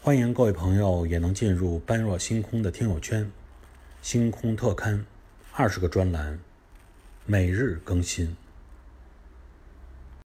欢迎各位朋友也能进入般若星空的听友圈，星空特刊20个专栏，每日更新。